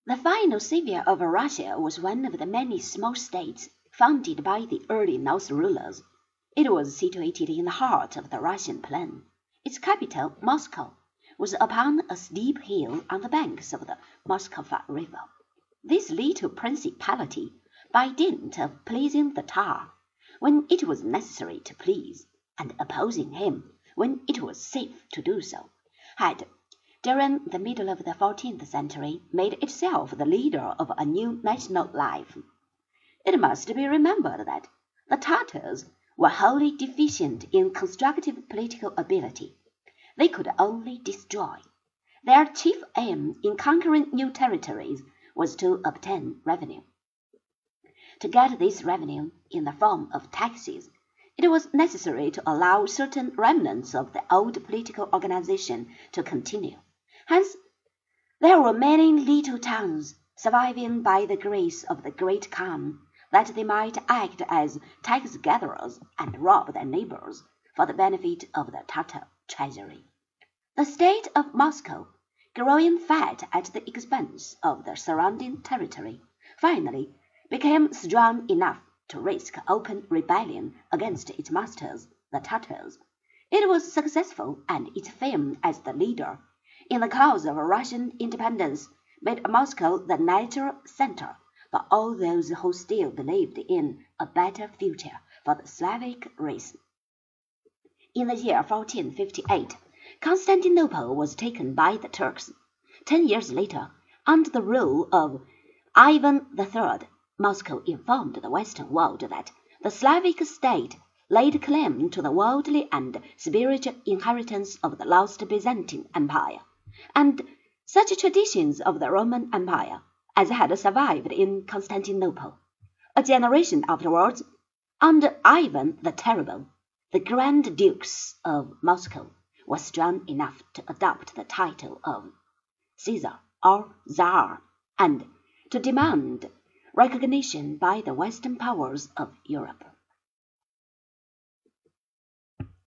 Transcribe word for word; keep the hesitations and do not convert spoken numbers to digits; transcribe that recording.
The final savior of Russia was one of the many small states founded by the early North rulers. It was situated in the heart of the Russian plain. Its capital, Moscow, was upon a steep hill on the banks of the Moskva River. This little principality, by dint of pleasing the Tsar when it was necessary to please, and opposing him when it was safe to do so, had, during the middle of the fourteenth century, made itself the leader of a new national life. It must be remembered that the Tartars were wholly deficient in constructive political ability. They could only destroy. Their chief aim in conquering new territories was to obtain revenue. To get this revenue in the form of taxes, it was necessary to allow certain remnants of the old political organization to continue. Hence, there were many little towns surviving by the grace of the Great Khan, that they might act as tax-gatherers and rob their neighbors for the benefit of the Tatar treasury. The state of Moscow, growing fat at the expense of the surrounding territory, finally became strong enough to risk open rebellion against its masters, the Tatars. It was successful, and its fame as the leader in the cause of Russian independence made Moscow the natural center for all those who still believed in a better future for the Slavic race. In the year fourteen fifty-eight, Constantinople was taken by the Turks. Ten years later, under the rule of Ivan the Third, Moscow informed the Western world that the Slavic state laid claim to the worldly and spiritual inheritance of the lost Byzantine Empire, and such traditions of the Roman Empire as had survived in Constantinople. A generation afterwards, under Ivan the Terrible, the Grand Dukes of Moscow were strong enough to adopt the title of Caesar or Tsar, and to demand recognition by the Western powers of Europe.